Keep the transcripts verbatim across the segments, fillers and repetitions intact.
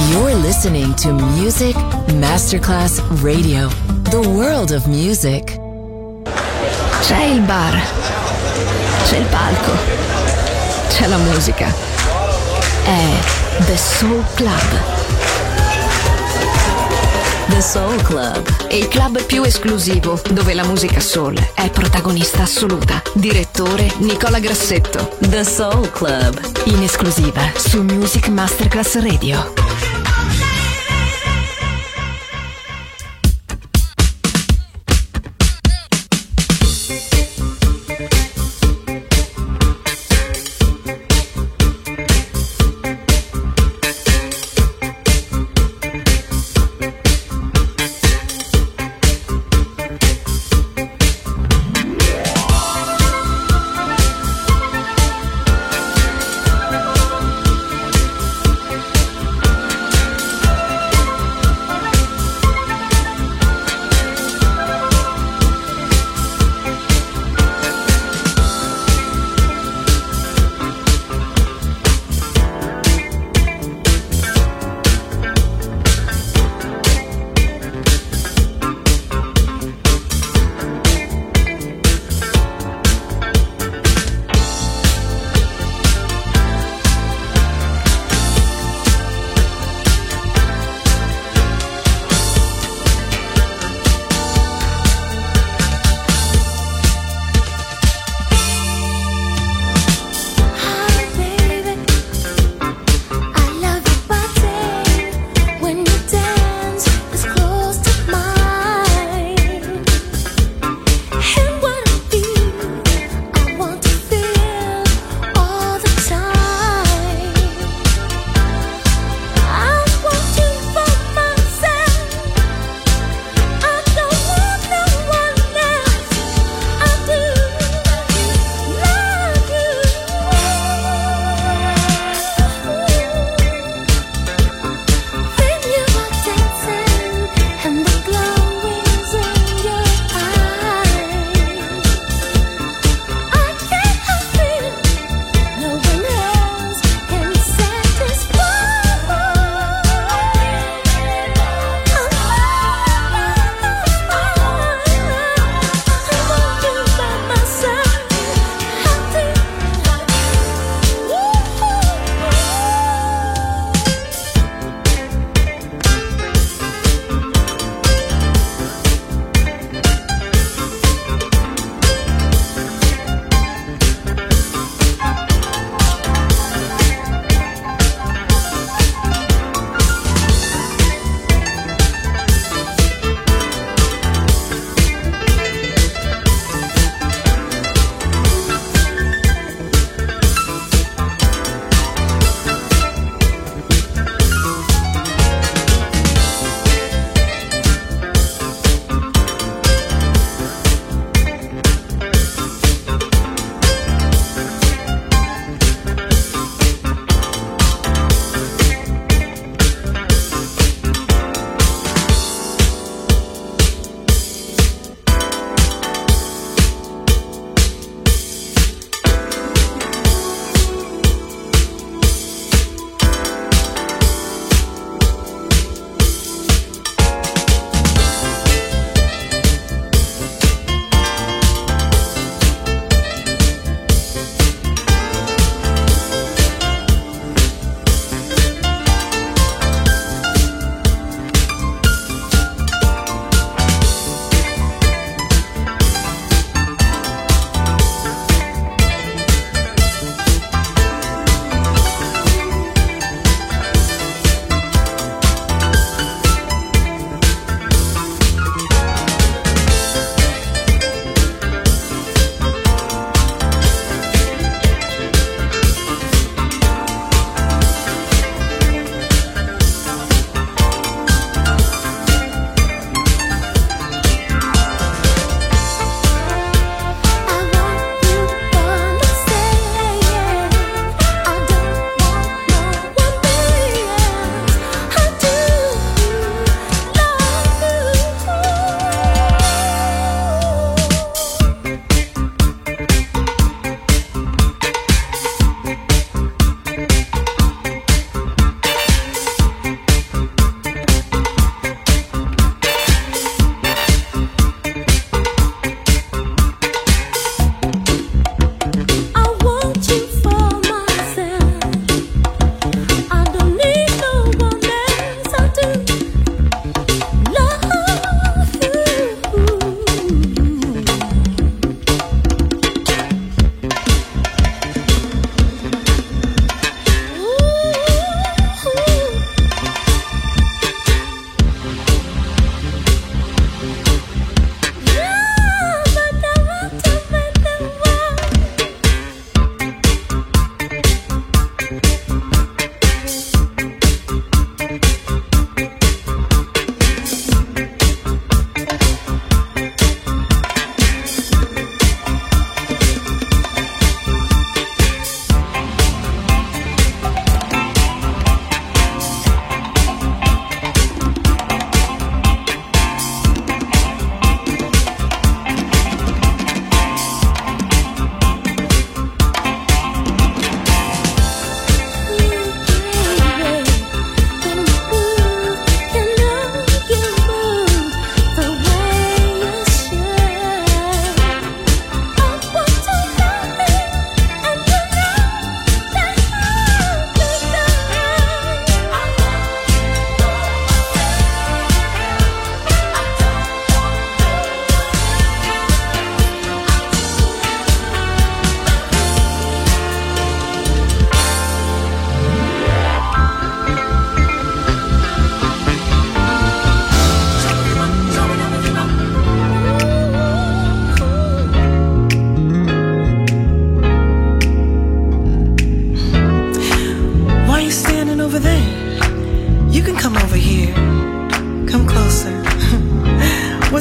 You're listening to Music Masterclass Radio, the world of music. C'è il bar, c'è il palco, c'è la musica. È The Soul Club. The Soul Club, il club più esclusivo dove la musica soul è protagonista assoluta. Direttore Nicola Grassetto. The Soul Club, in esclusiva su Music Masterclass Radio.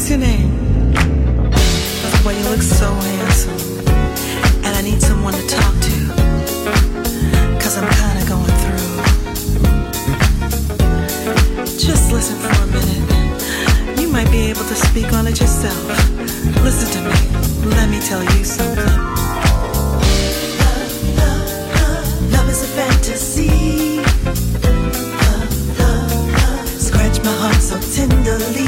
What's your name? Well, you look so handsome, and I need someone to talk to, 'cause I'm kinda going through. Just listen for a minute. You might be able to speak on it yourself. Listen to me, let me tell you something. Love, love, love, love is a fantasy. Love, love, love, scratch my heart so tenderly.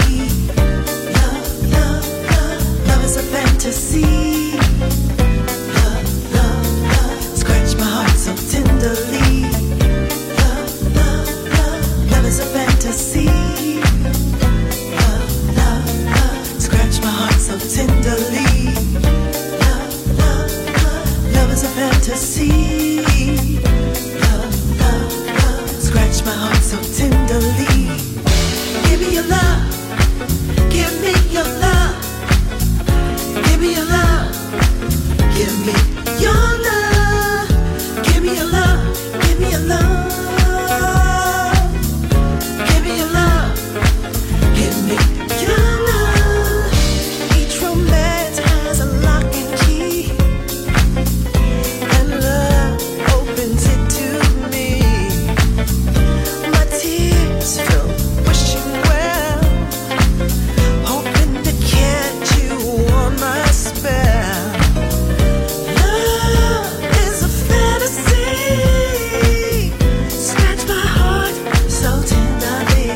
It's a fantasy. Love, love, love, scratch my heart so tenderly. Love, love, love, love is a fantasy. Love, love, love, scratch my heart so tenderly. Love, love, love, love is a fantasy. Love, love, love, scratch my heart so tenderly. Give me your love, give me your love. Give me your love, give me your love, give me your love, give me your love, give me your love, give me your love. Each romance has a lock and key, and love opens it to me. My tears fill, wishing well, hoping to catch you on my spell. Love is a fantasy. Scratch my heart so tenderly.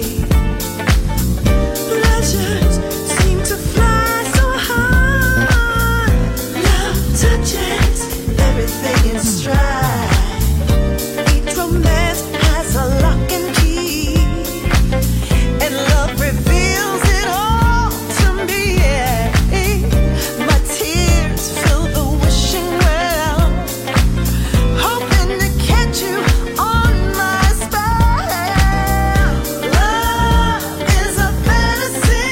Pleasures seem to fly so high. Love touches everything in stride. Each romance has a lock and key, and love reveals it all to me. Yeah. My tears fill the wishing well, hoping to catch you on my spell. Love is a fantasy.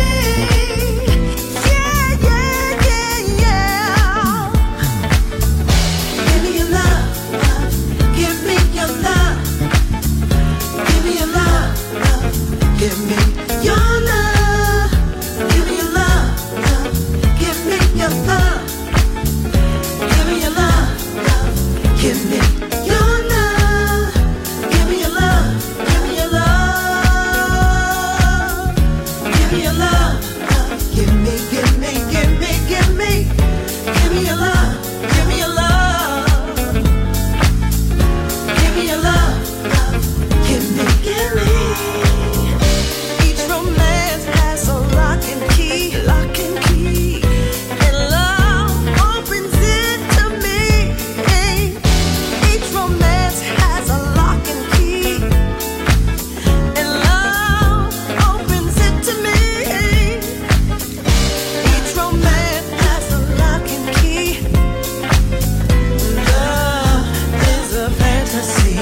Yeah, yeah, yeah, yeah. Give me your love, love. Give me your love. Give me your love, love. Give me your love. Give me your love, love. Give me your love. Give me your love, love. Give me your love. Give me your love. Give me your love. Give me your love, love. Give me, give me, give me, give me. Give me your love. Give me your love. Give me your love, love. Give me, give me. Each romance has a lock and key, lock and key, and love opens it to me. Each romance has a lock and key, and love opens it to me. Each romance has a lock and key. Love is a fantasy.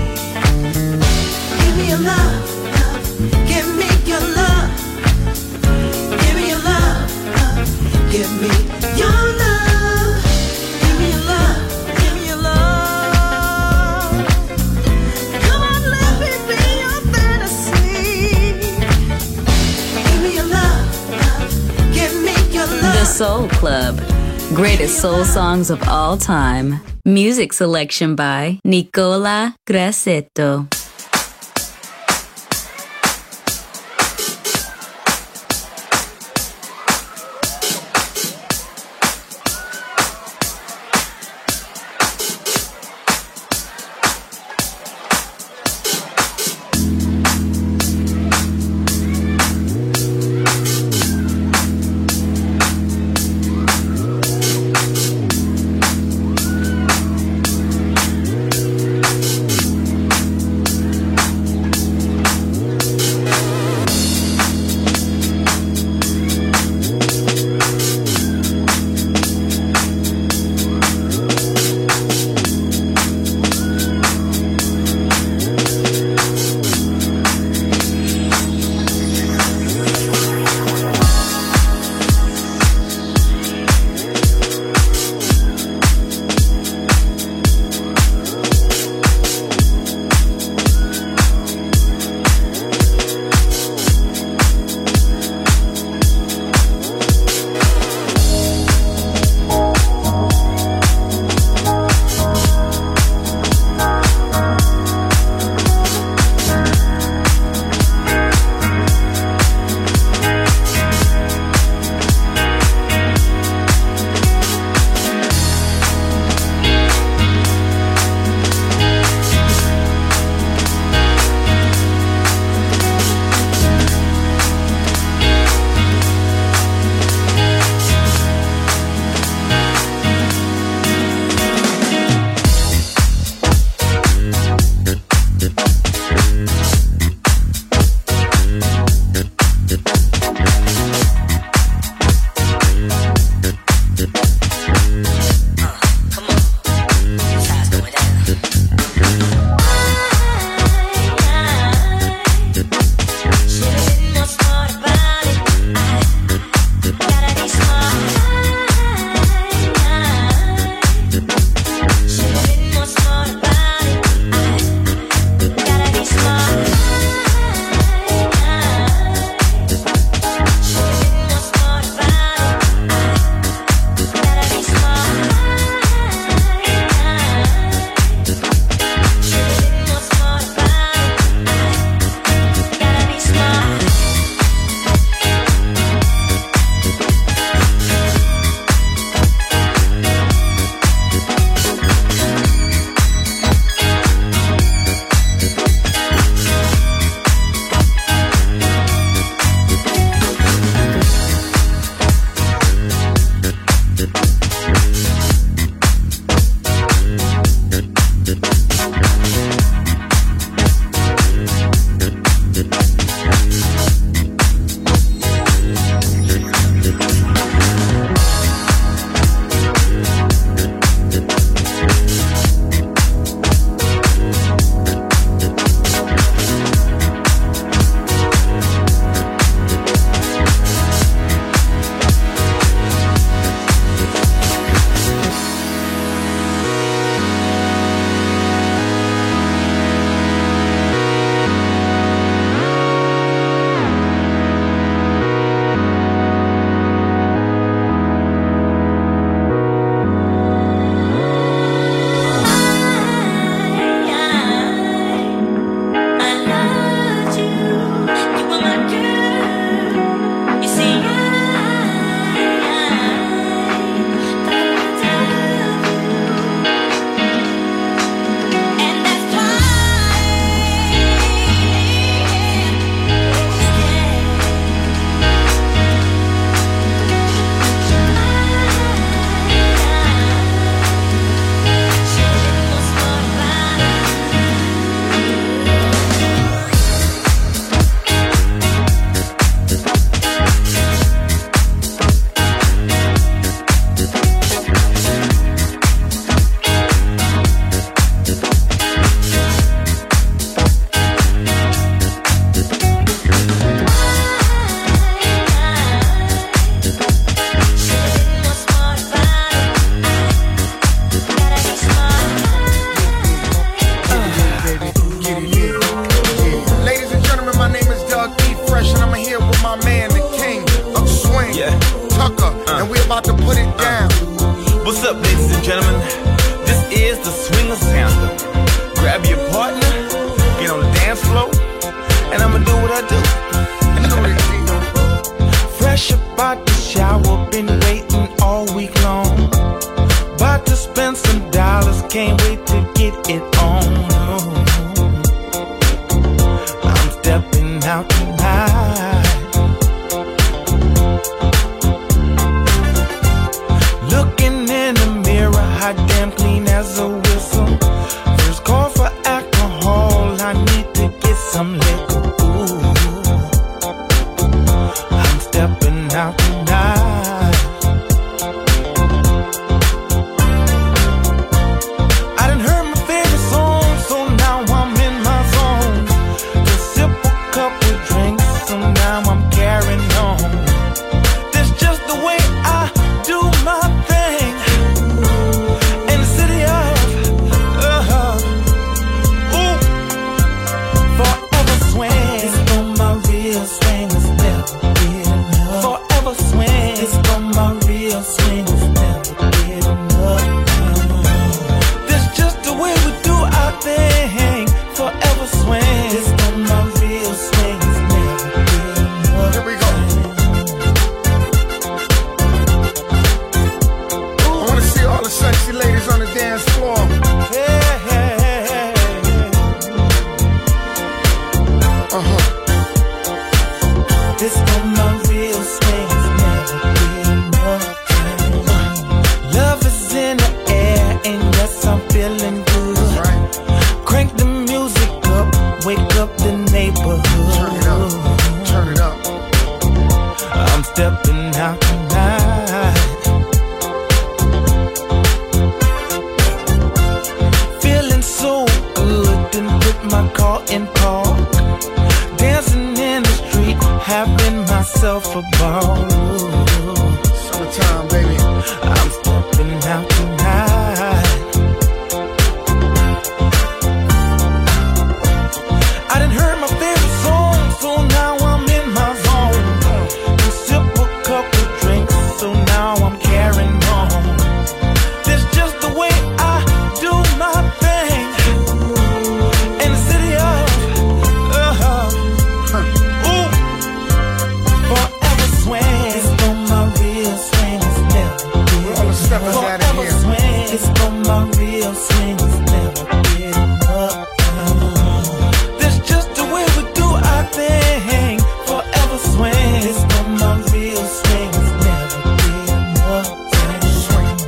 Give me your love, love. Give me your love. Give me your love, love. Give me your love. Give me your love. Give me your love. Come on, let me be your fantasy. Give me your love, love. Give me your love. The Soul Club. Greatest soul songs of all time. Music selection by Nicola Grassetto. Tucker, uh. and we're about to put it down. What's up, ladies and gentlemen? This is the Swingers Anthem. Grab your partner, get on the dance floor, and I'ma do what I do. Fresh about the shower, been waiting all week long. About to spend some dollars, can't wait to get it on. I'm stepping out tonight. Looking in the mirror, hot damn clean as a whistle. First call for alcohol, I need to get some liquor. Ooh, I'm stepping out tonight. I done heard my favorite song, so now I'm in my zone. Just sip a couple drinks, so now I'm carrying on. That's just the way I do my thing. In the city of, uh-huh, ooh, forever swing. It's for my real swingers, never get enough. Forever swing. It's for my real swingers, never get enough. That's just the way we do our thing. Forever swing. It's for my real swingers, never get enough. Here we go. I wanna see all the sexy ladies on the dance floor. Hey, hey, hey, hey. Uh-huh. This for my real swings, never get enough. Love is in the air, and yes, I'm feeling good. That's right. Crank the music up, wake up the neighborhood. Turn it up. Turn it up. I'm stepping out tonight. Feeling so good, didn't put my car in park. Dancing in the street, having myself a ball. Summertime, baby. I'm stepping out tonight. I done heard my favorite song, so now I'm in my zone. And sip a couple drinks, so now I'm carrying on. That's just the way I do my thing. In the city of, uh-huh, ooh, forever swing. It's for my real swingers, never We're all the steppers out of forever here. swing. It's for my real swingers, never get enough. That's just the way we do our thing. Forever swing. It's for my real swingers, never get enough. Swing.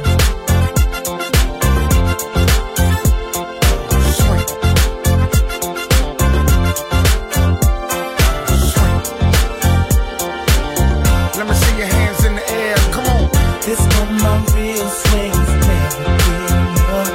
Swing. Swing. Let me see your hands in the air. Come on. This for my real swingers, never get enough.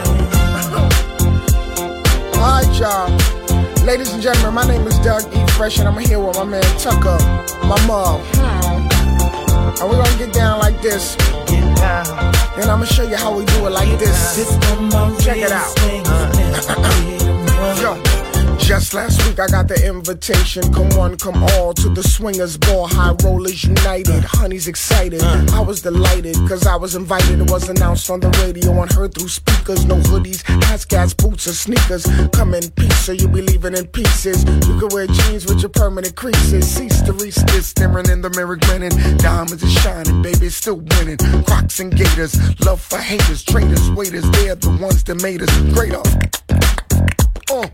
All right, y'all. Ladies and gentlemen, my name is Doug E. Fresh, and I'm here with my man Tucker, my mom. And we're gonna get down like this. Get down. Then I'm gonna show you how we do it like this. This for my Check it real out. swingers, never get enough. Yo, just last week I got the invitation. Come one, come all to the Swingers Ball. High Rollers United. Honey's excited. I was delighted because I was invited. It was announced on the radio and heard through speakers. No hoodies, hats, boots, or sneakers. Come in peace, so you'll be leaving in pieces. You can wear jeans with your permanent creases. Cease to reach this, staring in the mirror, grinning. Diamonds is shining, baby, it's still winning. Crocs and gators, love for haters, traitors, waiters. They're the ones that made us greater. Oh.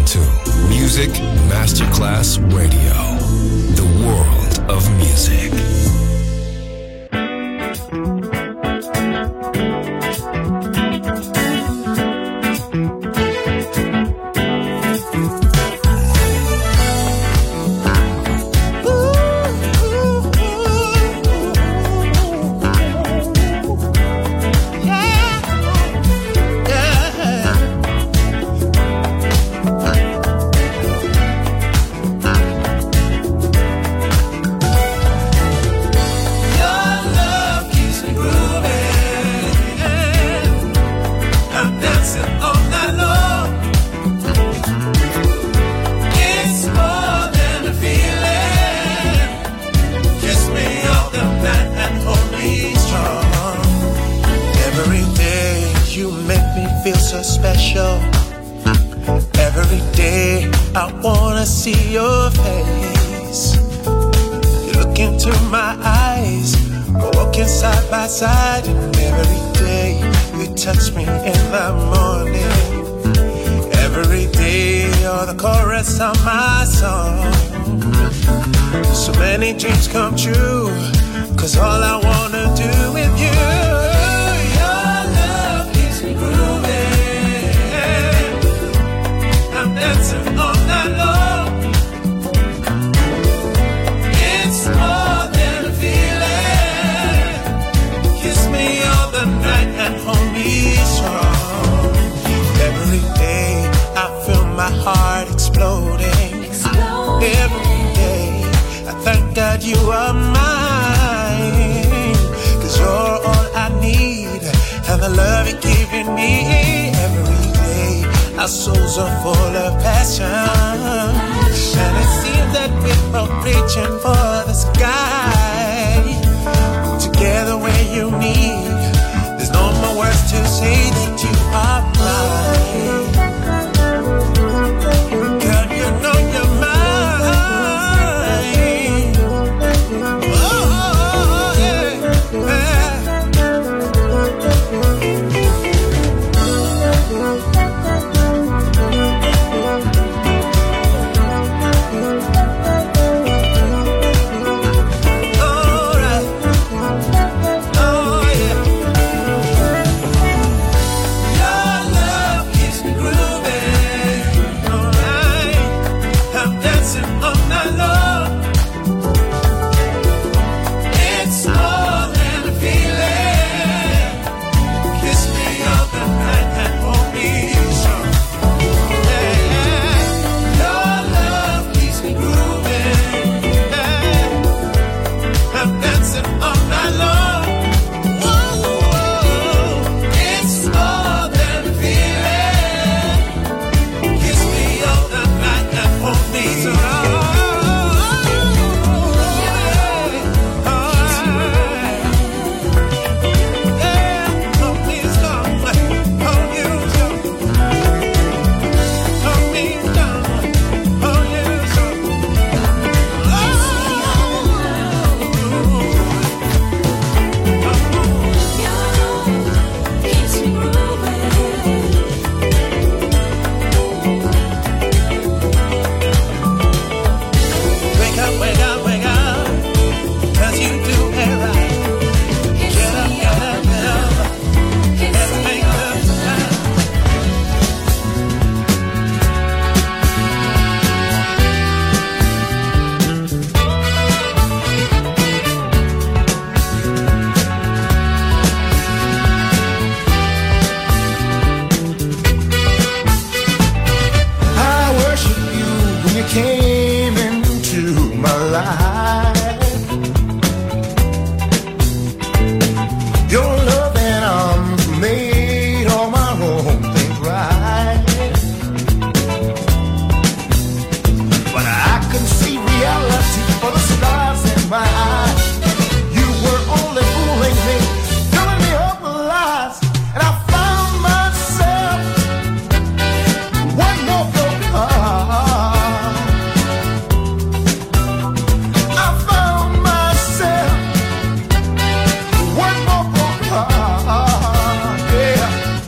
Music Masterclass Radio, the world of music. so special. Every day I wanna see your face. You look into my eyes, we're walking side by side. And every day you touch me in the morning. Every day you're the chorus of my song. So many dreams come true, 'cause all I wanna do with you. Your love keeps me grooving. I'm dancing all night long. It's more than a feeling. Kiss me all the night and hold me strong. Every day I feel my heart exploding. Explode. Every day I thank God you are mine, 'cause you're all I need, and the love you're giving me. Every day our souls are full of passion, and it seems that we're both reaching for the sky. Together where you need, there's no more words to say that you are mine. Girl, you know you're mine. Oh, yeah, yeah. All right. Oh, yeah. Your love keeps me grooving. All right. I'm dancing all night long. It's more than a feeling. Kiss me all the night and hold me strong. Yeah, yeah. Your love keeps me grooving. Yeah. I'm dancing all night long. Whoa, whoa. It's more than a feeling. Kiss me all the night and hold me strong. Wake up, wake up, wake up, 'cause you do it right. Get up, get up, get up. Let's make love tonight. I worship you when you came into my life. Your loving arms made all my wrong things right. But I can see reality for the stars in my eyes. You were only fooling me, filling me up with lies, and I found myself one more broken heart. I found myself one more broken heart. Yeah.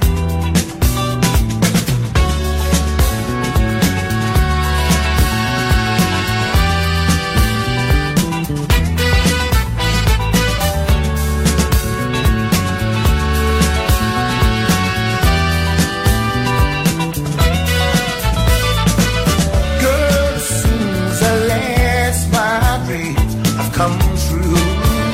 Girl, as soon as I last, my dreams have come true.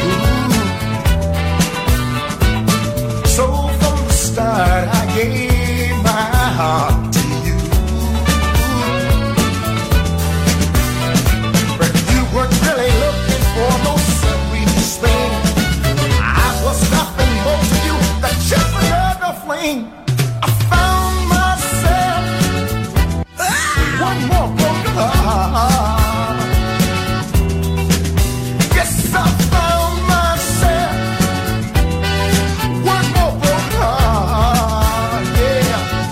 So from the start, I gave my heart to you. But you weren't really looking for no sweetest thing. I was nothing more to you than just another fling. I found myself one more broken heart. Yes, I found myself one more broken heart. Yeah.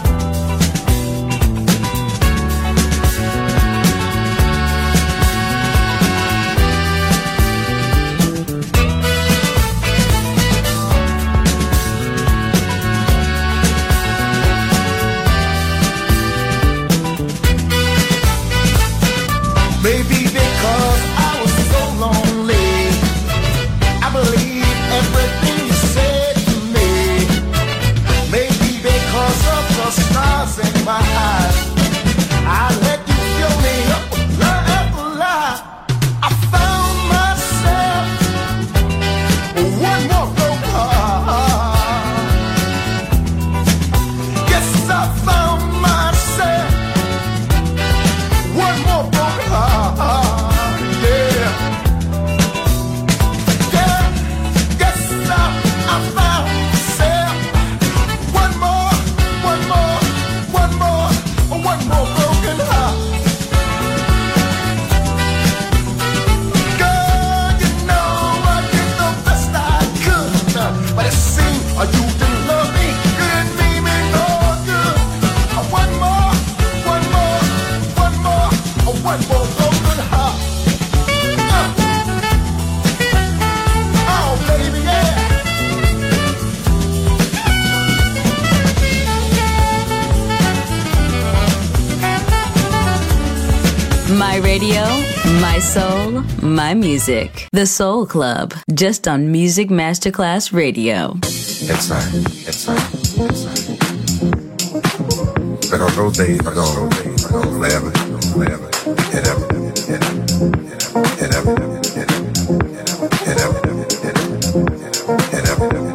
My radio, my soul, my music. The Soul Club, just on Music Masterclass Radio. It's right, it's right, it's right. Because those days are gone, those days are gone forever, forever, and ever, and ever, and ever, and ever, and ever, and ever, and ever, and ever.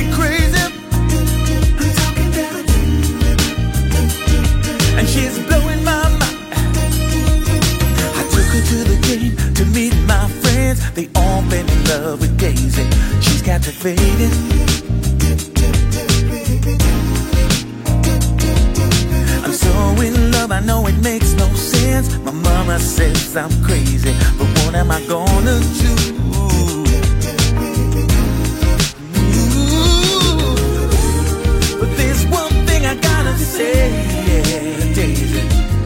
crazy. I'm talking about you. And she's blowing my mind. I took her to the game to meet my friends. They all been in love with Daisy. She's captivated. I'm so in love, I know it makes no sense. My mama says I'm crazy, but what am I gonna do? Ooh. But there's one thing I gotta say, yeah, Daisy.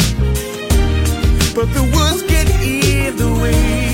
But the words get in the way.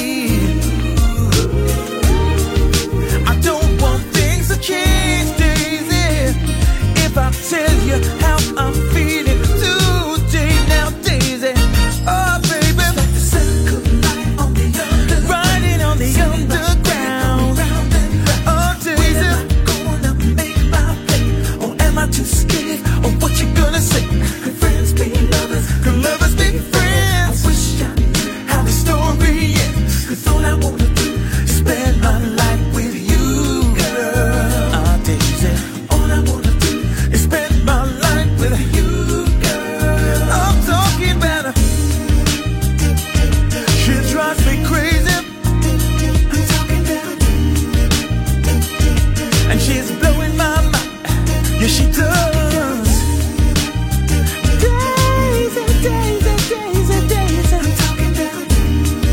I don't want things to change, Daisy. If I tell you how I'm feeling today, now, Daisy. Oh, baby, like the circle light on the under, riding on the underground. Oh, Daisy, am I gonna make my play, or am I too scared of what you're gonna say? Could friends be lovers? Could lovers be friends? I wish I knew how the story ends. 'Cause all I wanna do is spend my life with you, girl. Ah, Daisy, all I wanna do is spend my life with you, girl. I'm talking about her. She drives me crazy. I'm talking about you. And she's blowing my mind. Yeah, she does. Daisy, Daisy, Daisy, Daisy. I'm talking about you.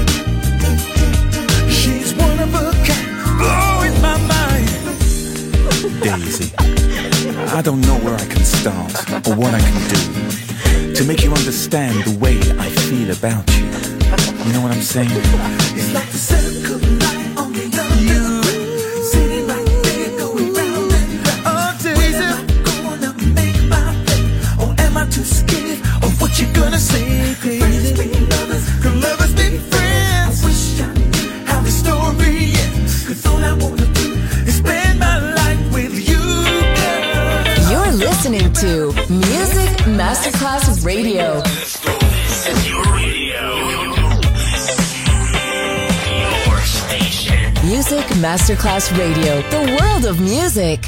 She's one of a kind, blowing my mind. Daisy, I don't know where I can start or what I can do to make you understand the way I feel about you. You know what I'm saying? It's like the circle light on the underground, sitting right there going round and round. Oh, Daisy, Am I gonna make my play, or am I too scared of what you gonna say, Friends Daisy? be lovers, Could lovers be friends? I wish I knew How the story ends. 'cause all I wanna do is spend my life with you, girl. You're listening to Music Masterclass Radio. Your radio. Your station. Music Masterclass Radio. The world of music.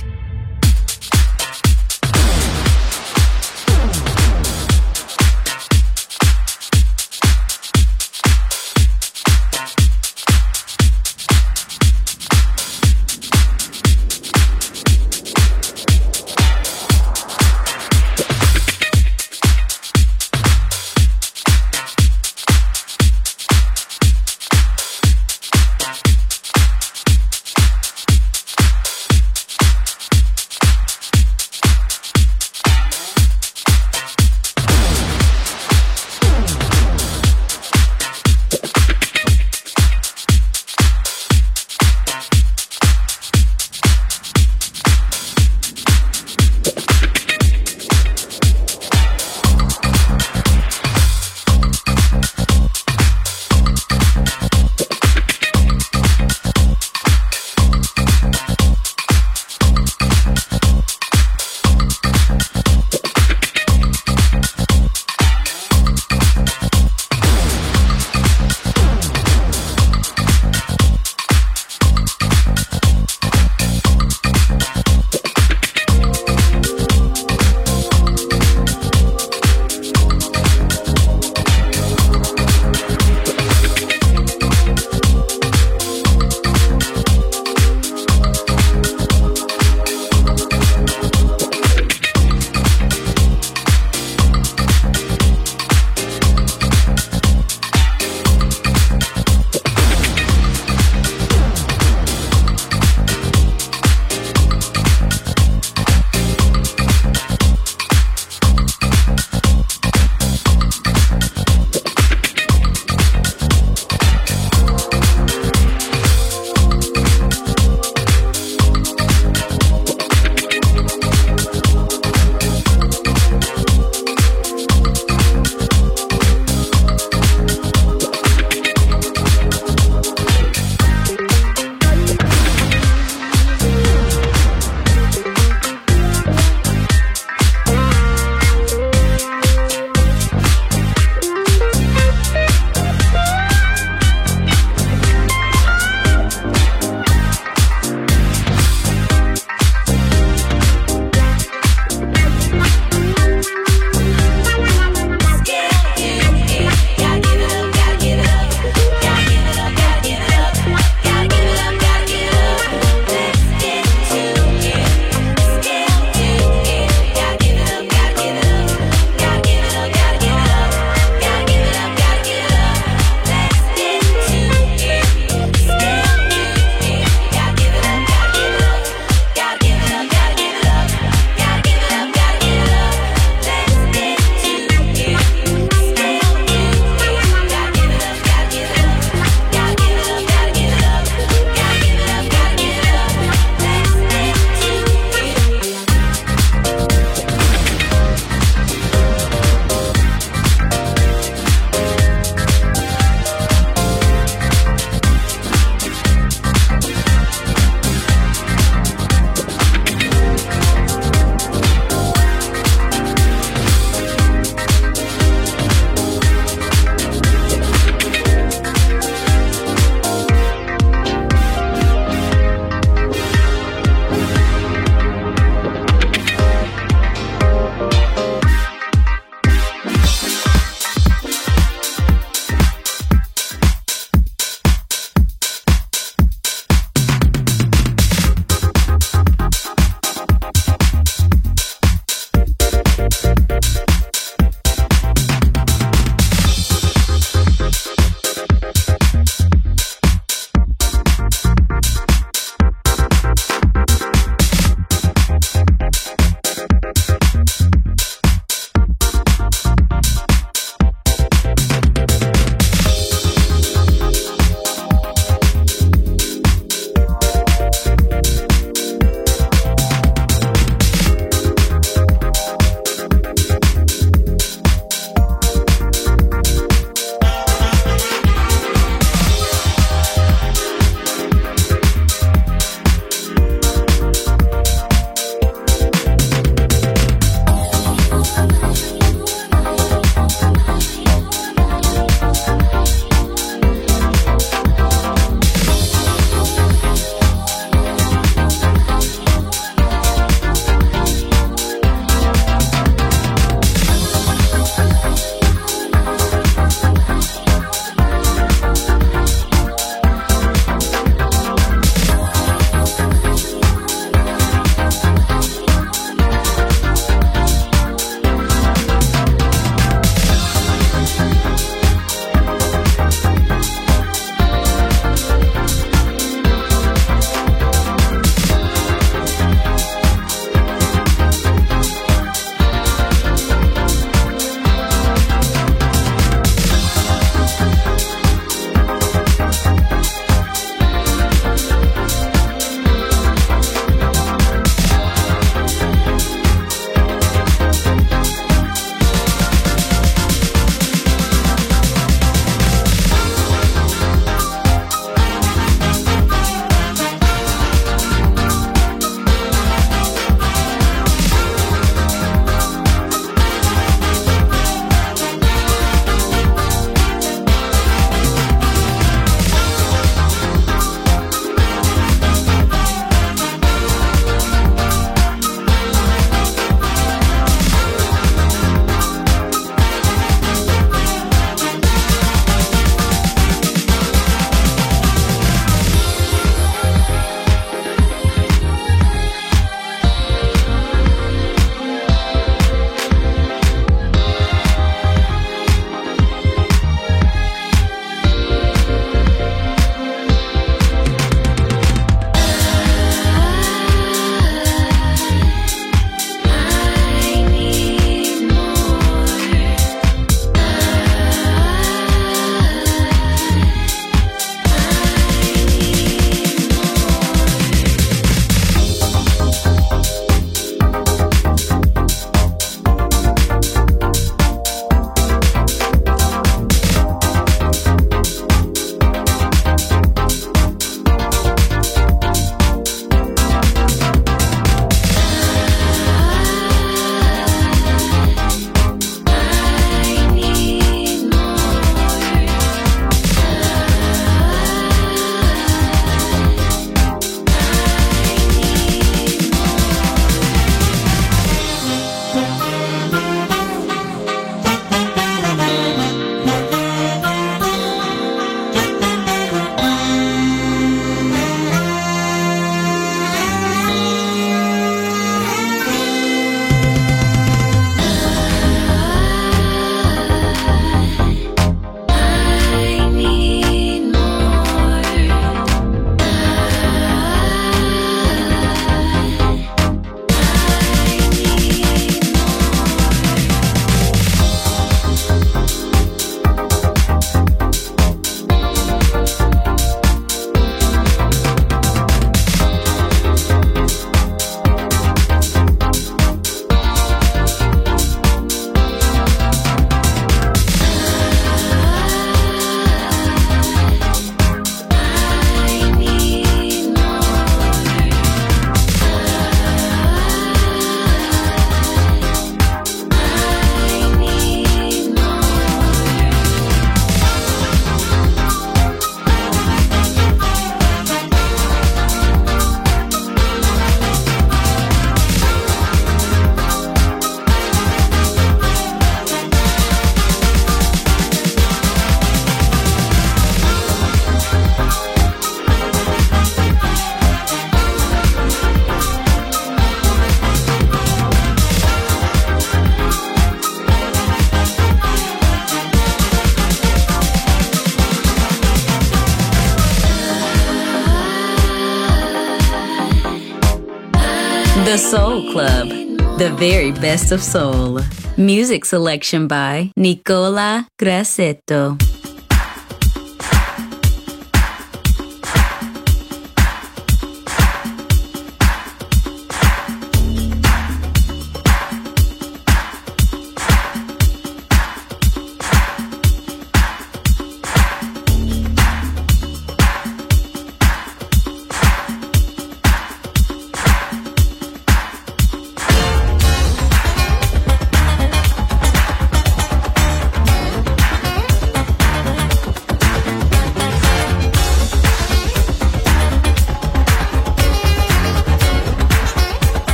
The Soul Club, the very best of soul. Music selection by Nicola Grassetto.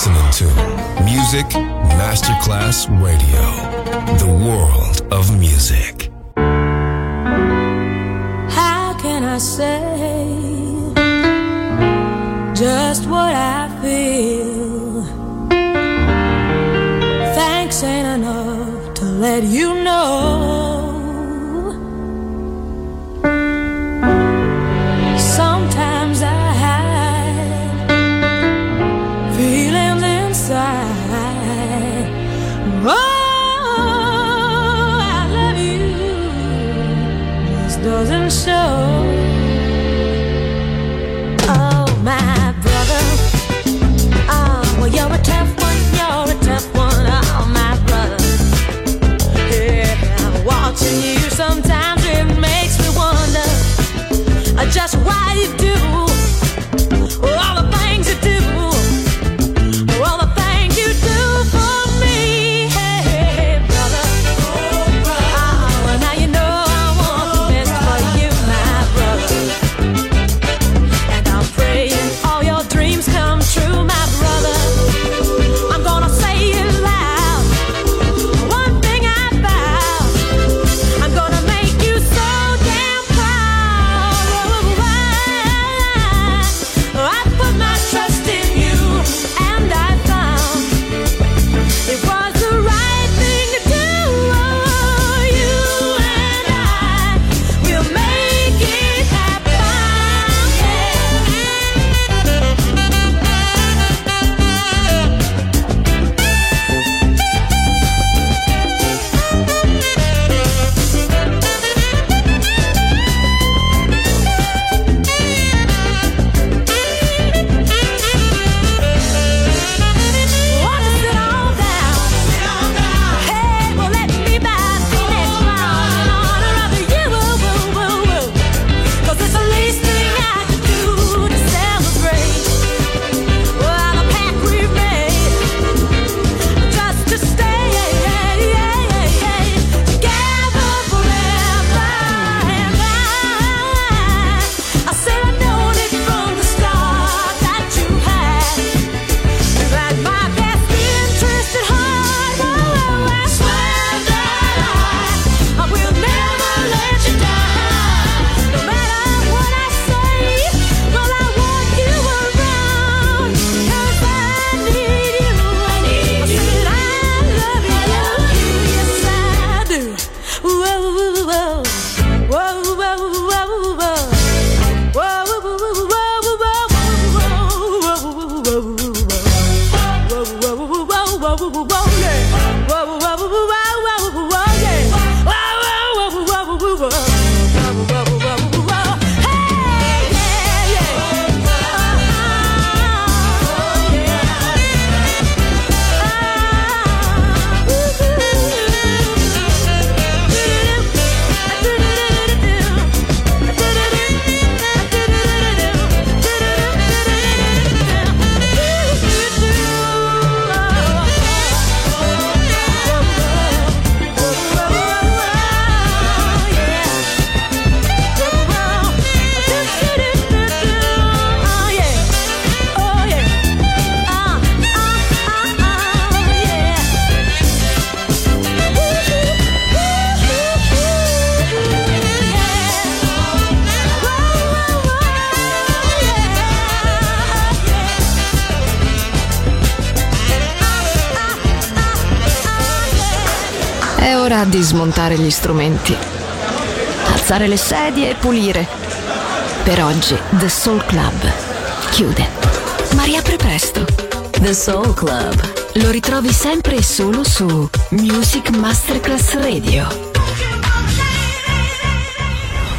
listening to Music Masterclass Radio, the world of music. How can I say just what I feel? Thanks ain't enough to let you know. Sometimes I hide feelings inside. Oh, I love you just doesn't show. Oh, my brother. Oh, well, you're a tough one, you're a tough one. Oh, my brother. Yeah, watching you sometimes it makes me wonder just why you do all the things you do, all the things you do for me. Hey, brother. Oh, brother. Oh, well, now you know I want the best for you, my brother. And I'm praying all your dreams come true, my brother. I'm gonna say it loud. One thing I vow, I'm gonna make you so damn proud. I put my trust in you, and I found it was the right thing to do. You and I will make it happen. Want to sit on down? Hey, well, let me buy the next round in honor of you. 'Cause it's the least thing I could do to celebrate. Well, the pact we've made just to stay together forever. And I, I said I known it from the start that you had. That my best interest at heart. Oh, I swear that I, I will never let you down. No matter what I say, well, I want you around. 'Cause I need you. I need you. I love you. Yes, I do. Whoa, whoa, whoa. Whoa, whoa, whoa, whoa. Whoa, whoa, whoa, whoa, whoa, whoa, whoa, whoa. È ora di smontare gli strumenti, alzare le sedie e pulire. Per oggi The Soul Club chiude, ma riapre presto. The Soul Club. Lo ritrovi sempre e solo su Music Masterclass Radio.